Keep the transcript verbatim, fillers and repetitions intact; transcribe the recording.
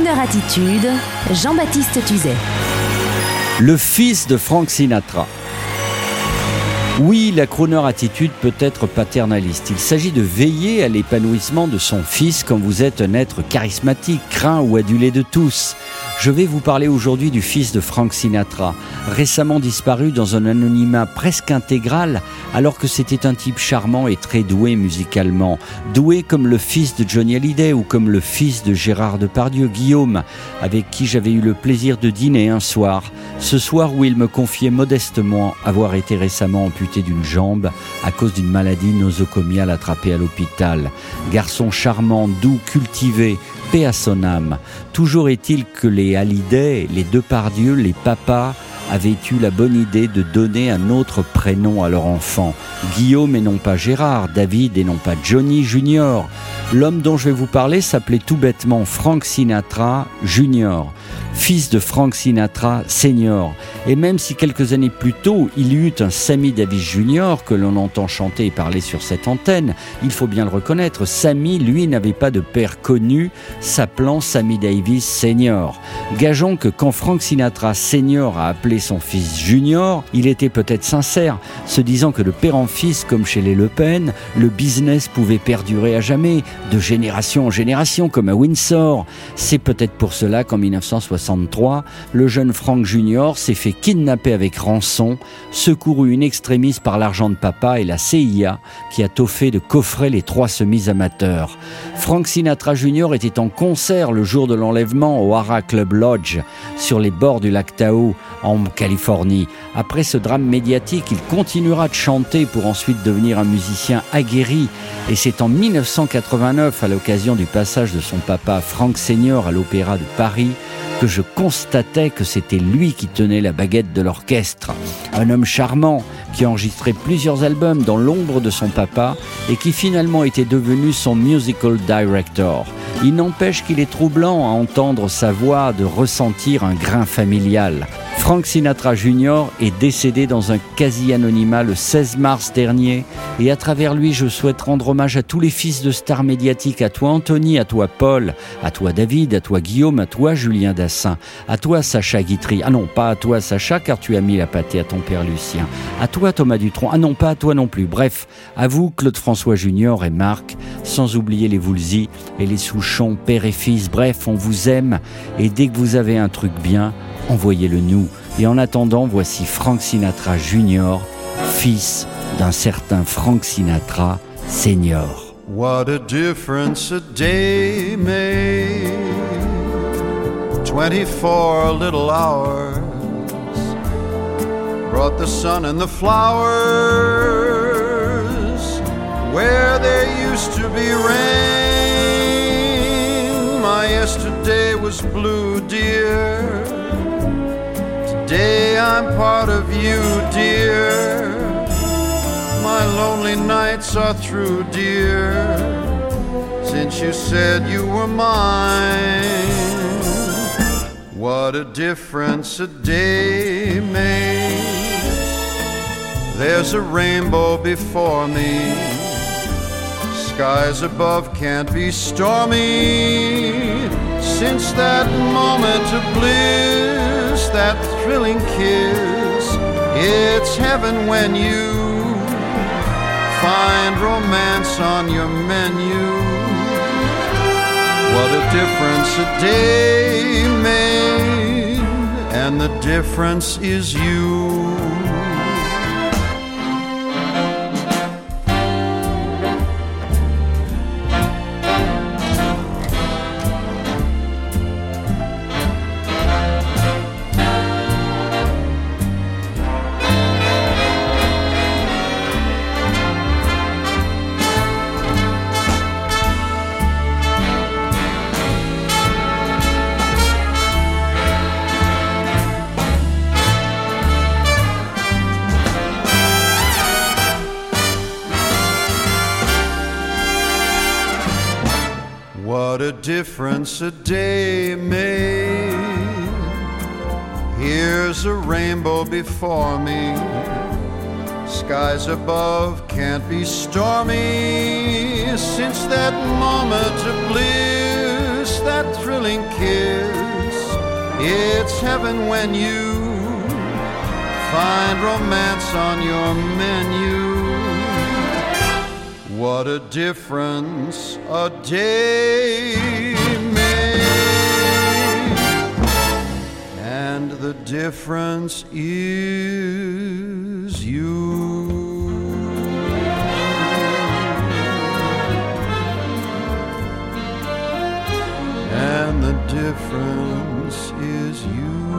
Crooner Attitude, Jean-Baptiste Tuzet. Le fils de Frank Sinatra. Oui, la crooner attitude peut être paternaliste. Il s'agit de veiller à l'épanouissement de son fils quand vous êtes un être charismatique, craint ou adulé de tous. Je vais vous parler aujourd'hui du fils de Frank Sinatra, récemment disparu dans un anonymat presque intégral, alors que c'était un type charmant et très doué musicalement. Doué comme le fils de Johnny Hallyday ou comme le fils de Gérard Depardieu, Guillaume, avec qui j'avais eu le plaisir de dîner un soir. Ce soir où il me confiait modestement avoir été récemment amputé d'une jambe à cause d'une maladie nosocomiale attrapée à l'hôpital. Garçon charmant, doux, cultivé, paix à son âme. Toujours est-il que les Hallyday, les Depardieu, les papas avaient eu la bonne idée de donner un autre prénom à leur enfant. Guillaume et non pas Gérard, David et non pas Johnny Junior. L'homme dont je vais vous parler s'appelait tout bêtement Frank Sinatra Junior, fils de Frank Sinatra Senior. Et même si quelques années plus tôt, il y eut un Sammy Davis Junior que l'on entend chanter et parler sur cette antenne, il faut bien le reconnaître, Sammy, lui, n'avait pas de père connu, s'appelant Sammy Davis Senior. Gageons que quand Frank Sinatra Senior a appelé son fils Junior, il était peut-être sincère, se disant que de père en fils, comme chez les Le Pen, le business pouvait perdurer à jamais, de génération en génération, comme à Windsor. C'est peut-être pour cela qu'en dix-neuf cent soixante-trois, le jeune Frank Junior s'est fait kidnapper avec rançon, secouru in extremis par l'argent de papa et la C I A, qui a tôt fait de coffrer les trois semis-amateurs. Frank Sinatra Junior était en concert le jour de l'enlèvement au Hara Club Lodge, sur les bords du lac Tahoe, en Californie. Après ce drame médiatique, il continuera de chanter pour ensuite devenir un musicien aguerri. Et c'est en dix-neuf cent quatre-vingt-neuf, à l'occasion du passage de son papa Frank Senior à l'Opéra de Paris, que je constatais que c'était lui qui tenait la baguette de l'orchestre. Un homme charmant qui a enregistré plusieurs albums dans l'ombre de son papa et qui finalement était devenu son musical director. Il n'empêche qu'il est troublant à entendre sa voix, de ressentir un grain familial. Frank Sinatra Junior est décédé dans un quasi-anonymat le seize mars dernier et à travers lui, je souhaite rendre hommage à tous les fils de stars médiatiques, à toi Anthony, à toi Paul, à toi David, à toi Guillaume, à toi Julien Dassin, à toi Sacha Guitry, ah non, pas à toi Sacha car tu as mis la pâtée à ton père Lucien, à toi Thomas Dutronc, ah non, pas à toi non plus, bref, à vous Claude-François Junior et Marc, sans oublier les Woolsey et les Souchon, père et fils, bref, on vous aime et dès que vous avez un truc bien, envoyez-le nous. Et en attendant, voici Frank Sinatra Junior, fils d'un certain Frank Sinatra Senior. What a difference a day made, twenty-four little hours brought the sun and the flowers where there used to be rain. My yesterday was blue, dear. Today I'm part of you, dear. My lonely nights are through, dear, since you said you were mine. What a difference a day makes. There's a rainbow before me. Skies above can't be stormy. Since that moment of bliss, that thrilling kiss, it's heaven when you find romance on your menu. What a difference a day made, and the difference is you. What a difference a day made. Here's a rainbow before me. Skies above can't be stormy. Since that moment of bliss, that thrilling kiss. It's heaven when you find romance on your menu. What a difference a day made, and the difference is you. And the difference is you.